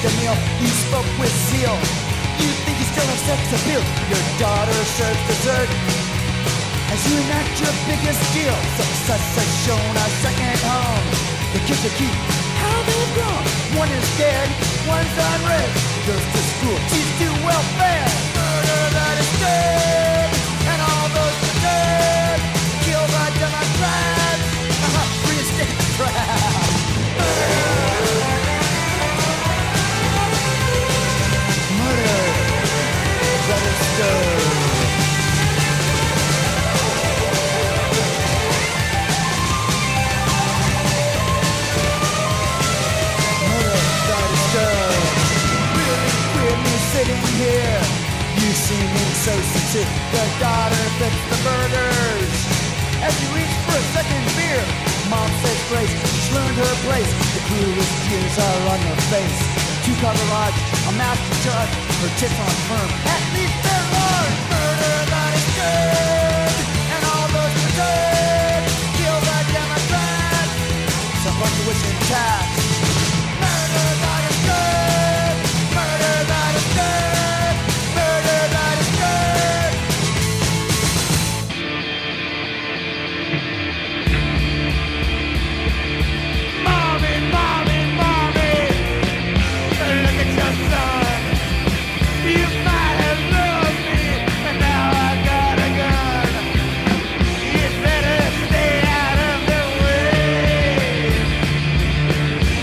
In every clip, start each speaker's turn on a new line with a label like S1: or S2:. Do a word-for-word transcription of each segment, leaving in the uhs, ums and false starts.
S1: the meal. He spoke with zeal. You think you still have sex appeal. Your daughter serves dessert as you enact your biggest deal. Success has shown a second home. The kids are cute, how they've grown. One is dead, one's unraised. Goes to school, she's too well fed. Murder that is dead, and all those are dead. Kill the Democrats, reinstate the trap. Murder that is dead. Sitting here, you seeming so sincere. The daughter fits the burgers as you reach for a second beer. Mom says grace, she's learned her place. The coolest tears are on her face. Two-car garage, a master judge, her tits on firm. At least they're large. Murder that is good, and all those are good. Kill the Democrats, some bunch of wishing cats. Murder that is good, murder that is good, murder that is good. Mommy, mommy, mommy, look at your son. You might have loved me, and now I got a gun. You better stay out of the way.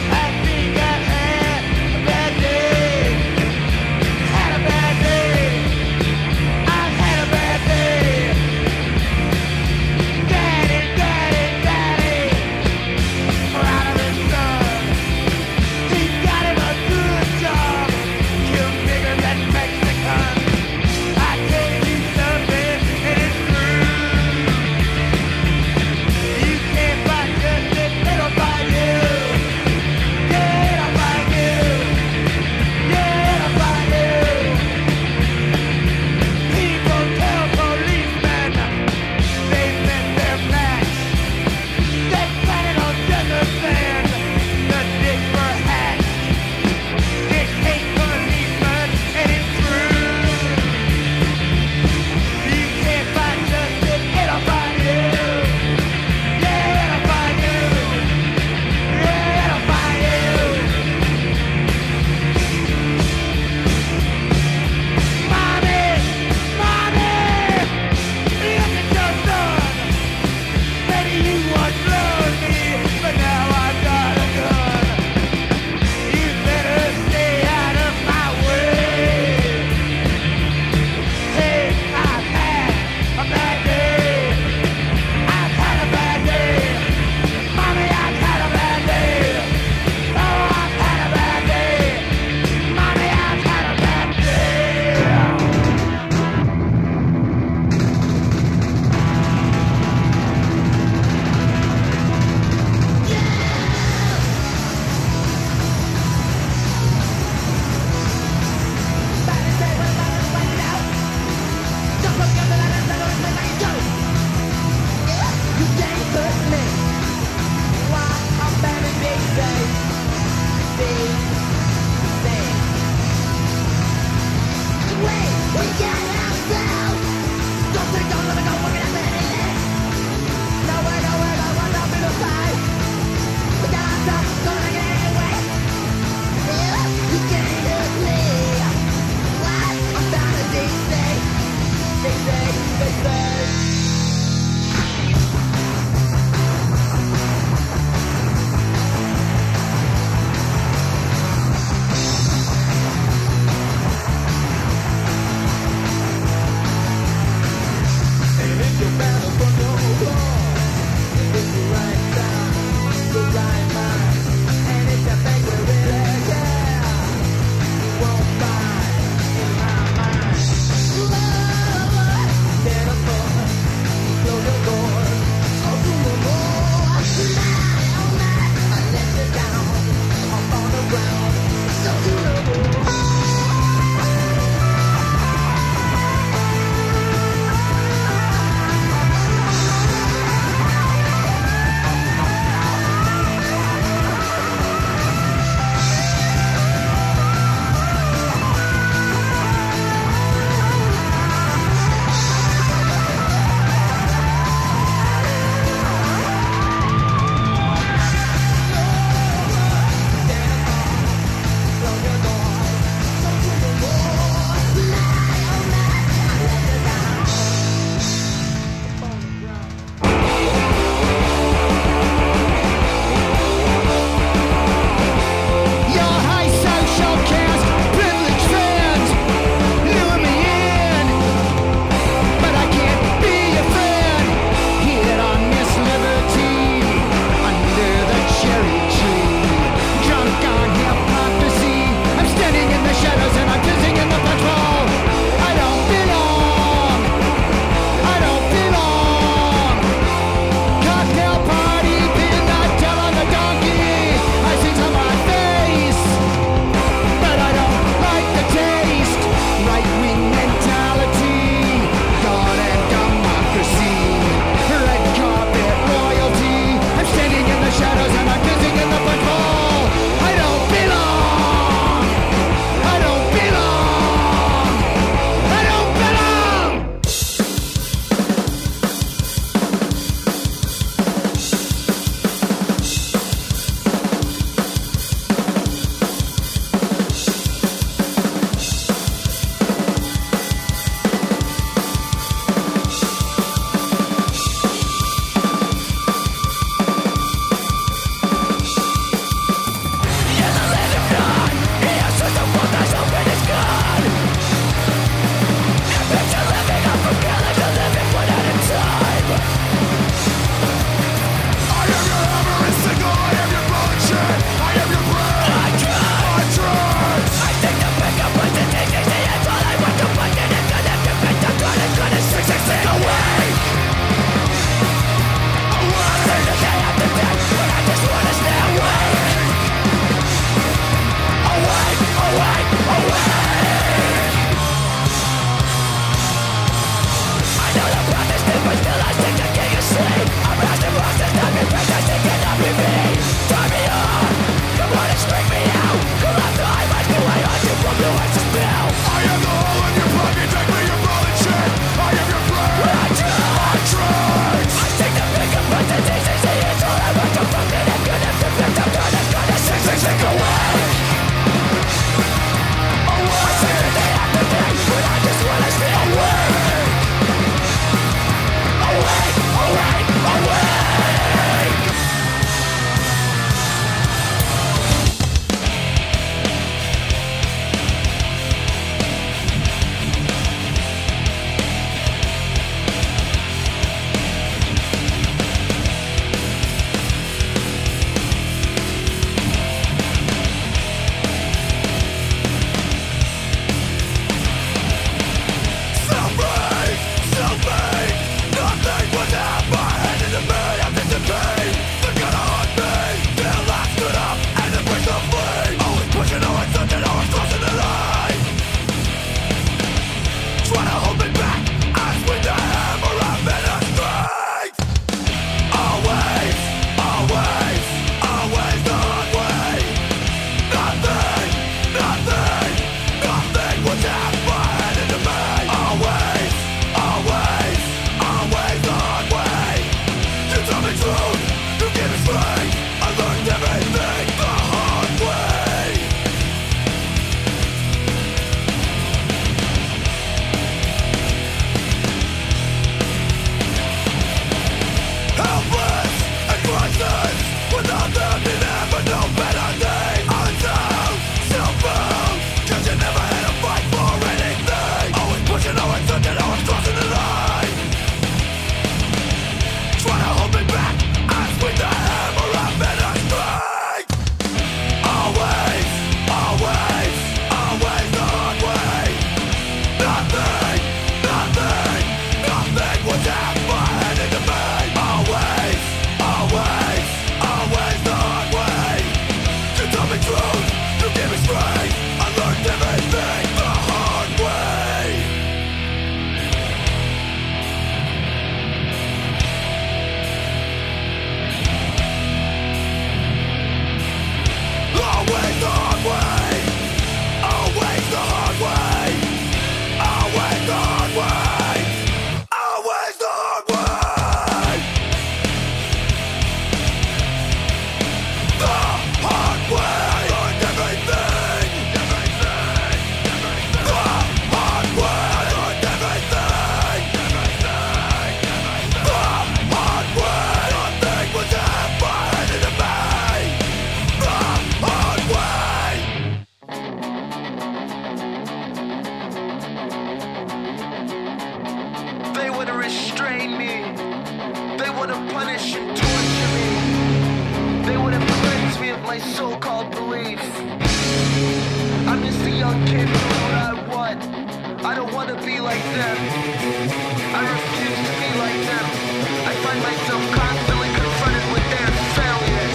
S1: so-called beliefs. I'm just a young kid doing what I want. I don't want to be like them. I refuse to be like them. I find myself constantly confronted with their failures.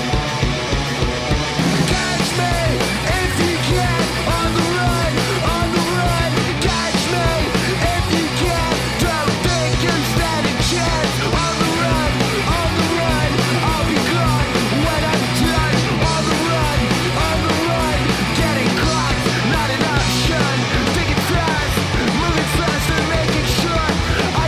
S1: Catch me if you can, on the run, on the run. Catch me if you can, don't think you stand a chance. On the run, on the run, I'll be gone when I'm done. On the run, on the run, getting caught, not an option. Thinking fast, moving fast and making sure I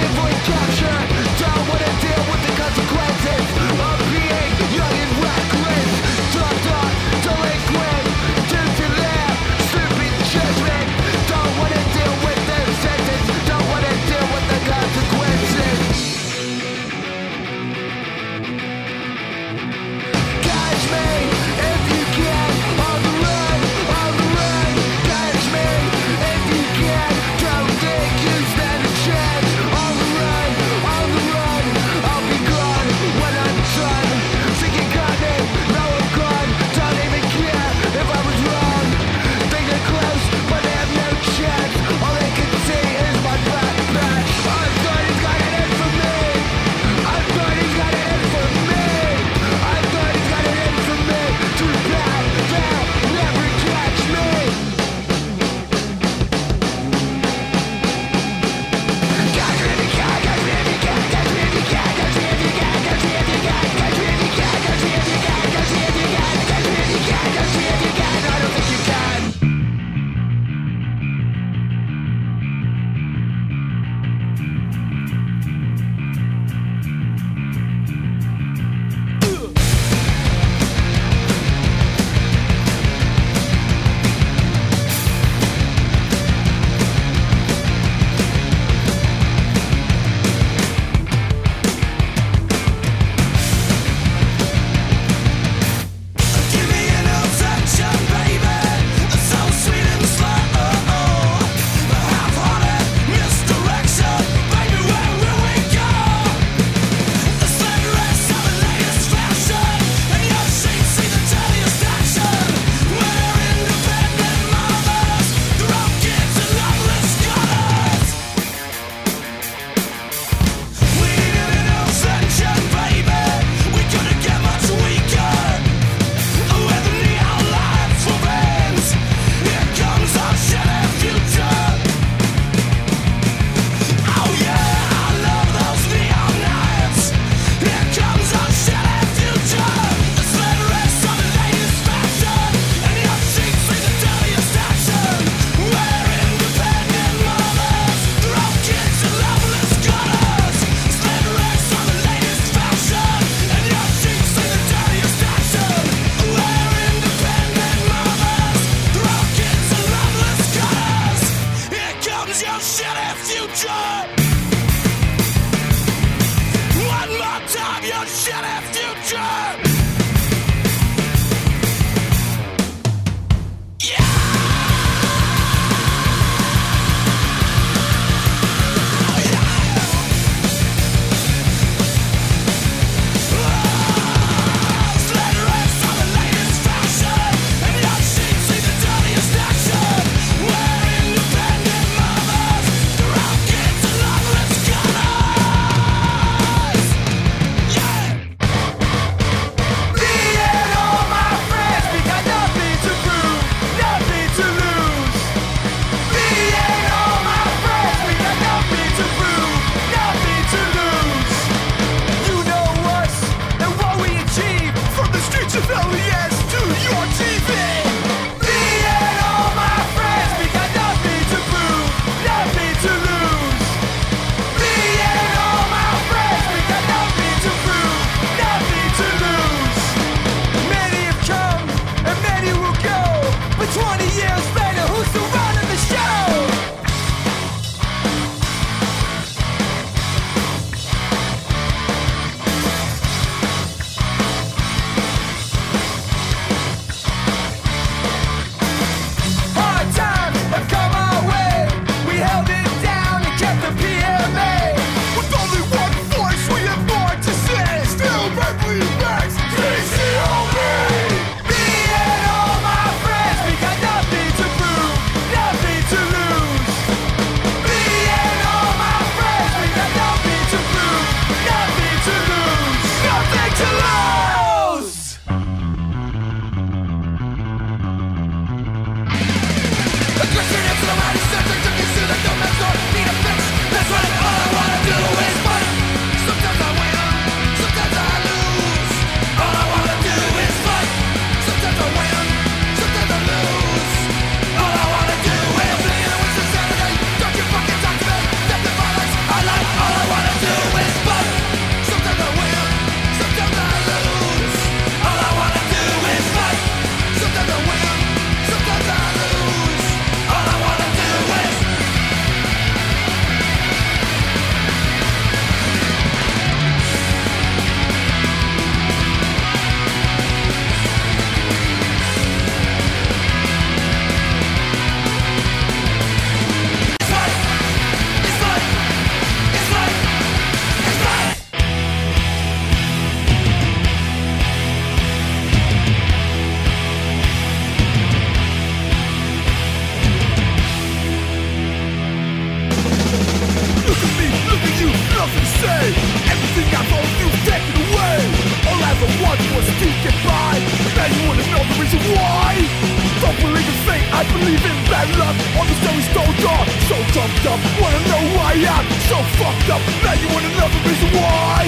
S1: bad luck on the story stole door. So trumped up, wanna know who I am. So fucked up, now you want another reason why.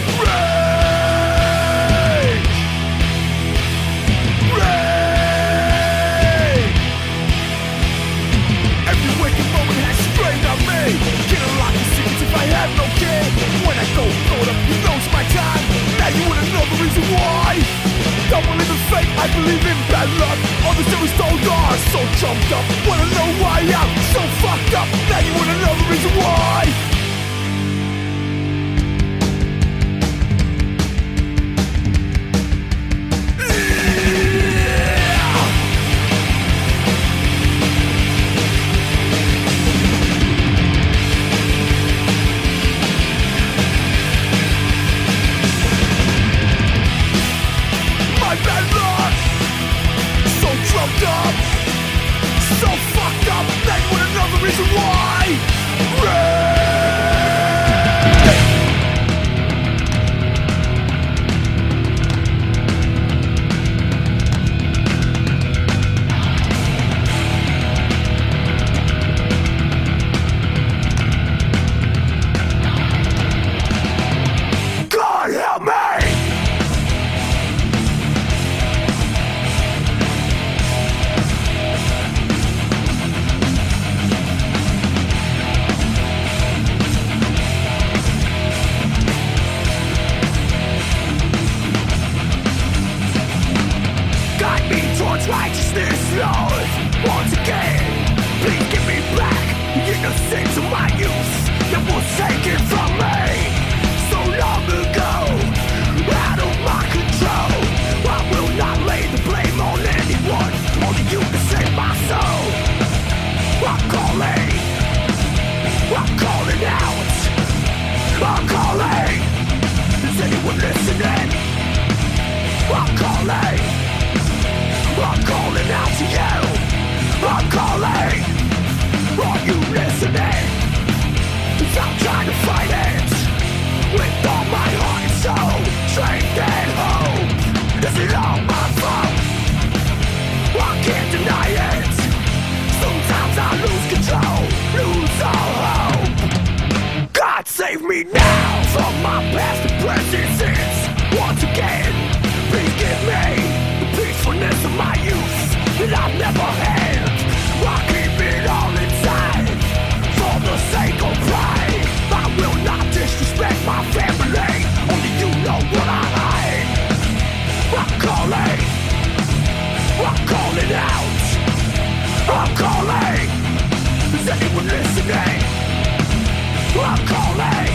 S1: Rage, rage. Every waking moment has strained on me. Get a lot of secrets if I have no care. When I go throw it up, you know it's my time. Now you want another reason why. Don't believe in fate, I believe in bad luck. All the series stole doors, so jumped up. Wanna know why I'm so fucked up. Now you want another reason why. Up, so fucked up, now you want another reason why. God help me. Righteousness, Lord, once again, please give me back the innocence of my youth that was taken from me so long ago, out of my control. I will not lay the blame on anyone, only you to save my soul. I'm calling, I'm calling out, I'm calling. Is anyone listening? I'm calling. I'm calling out to you. I'm calling. Are you listening? 'Cause I'm trying to fight it with all my heart and soul, strength and hope. Is it all my fault? I can't deny it. Sometimes I lose control, lose all hope. God save me now from my past and present sins. Once again, please give me peacefulness of my youth that I've never had. I keep it all inside for the sake of pride. I will not disrespect my family, only you know what I hide. I'm calling, I'm calling out, I'm calling. Is anyone listening? I'm calling,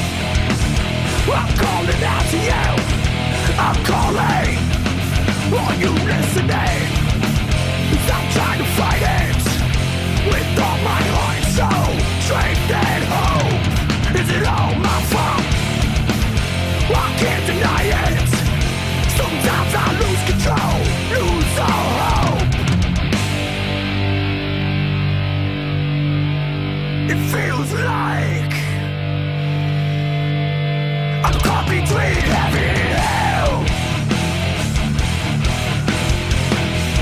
S1: I'm calling out to you. I'm calling. Are you listening? 'Cause I'm trying to fight it with all my heart and soul, strength and hope. Is it all my fault? I can't deny it. Sometimes I lose control, lose all hope. It feels like I'm caught between heaven and hell.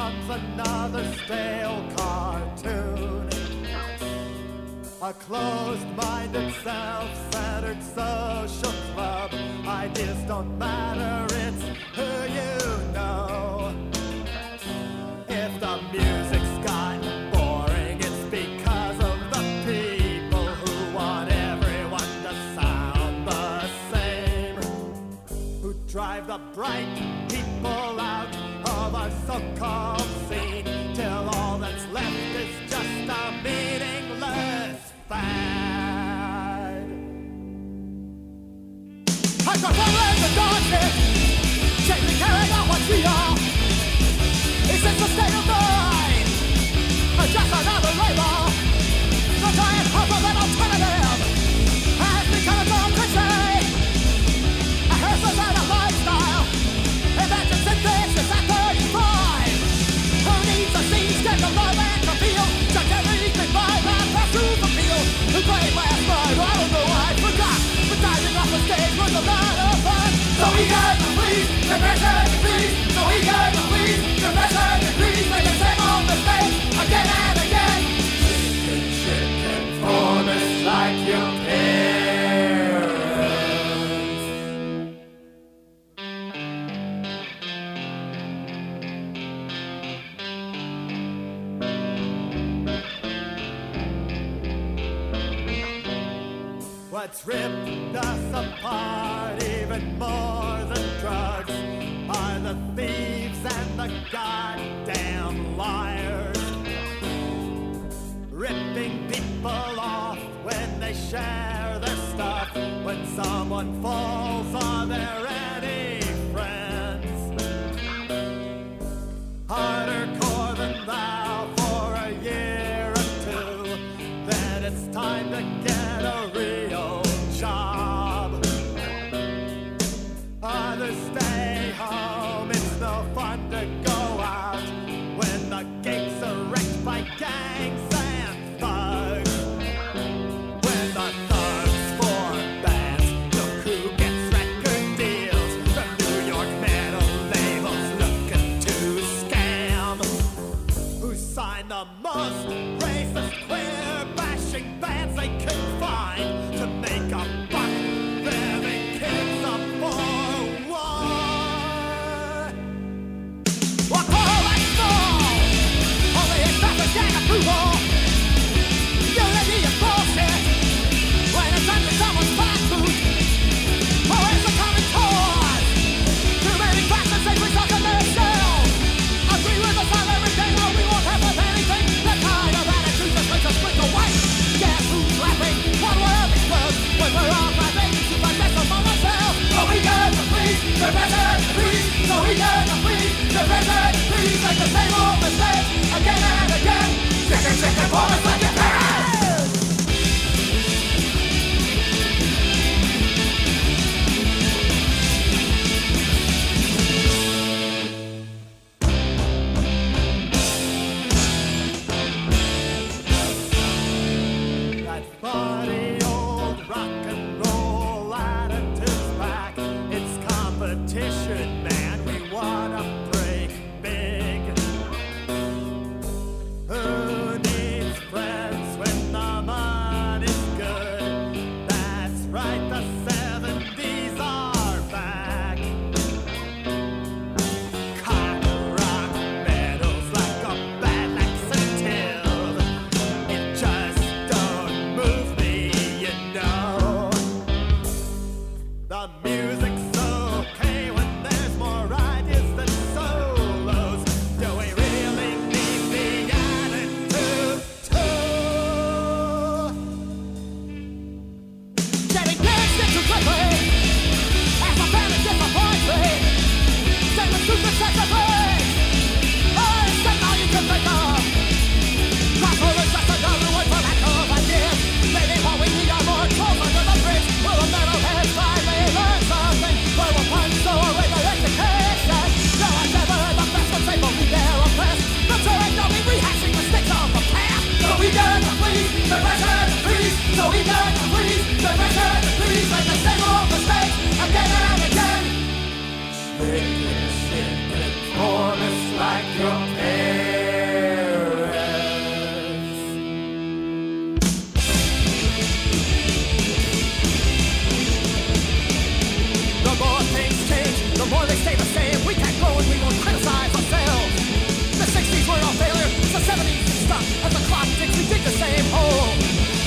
S1: comes another stale cartoon. A closed-minded, self-centered social club. Ideas don't matter, it's who you know. If the music's gotten boring, it's because of the people who want everyone to sound the same, who drive the bright people out of our so-called scene, till all that's left is just a meaningless fad. I got following the darkness, chasing carrying out what we are. Is this the state of mind? Or just another label? The giant hope of an alternative has become a dumb cliche. A hairstyle and a lifestyle. Imagine synthesis at thirty-five. Who needs a scene, sketch of love and reveal? Such everything by that pursuit appeal. Who played last night? I don't know, I forgot. But diving off the stage was a lot of fun. So we got the please, confession and please. So we got the please, confession and please. Make the same old mistake again and again. Chicken, chicken, formless like your parents. What's ripped us apart even more than drugs are the thieves and the goddamn liars, ripping people off when they share their stuff. When someone falls, are there any friends? Harder core than thou for a year or two, then it's time to get a real job. Others stay home, it's no fun to go out when the gates are wrecked by gangs and thugs. When the thugs form bands, look who gets record deals from New York metal labels looking to scam. Who signed the most racist, queer bashing bands they could find to make a buck, revving kids up for war. What call I small, only it's not for gang approval. Unity is bullshit when it's under someone's fast food. Or it's a common cause. Too many factions they result in themselves. Agree with us on everything or we won't have anything. That kind of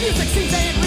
S2: music seems and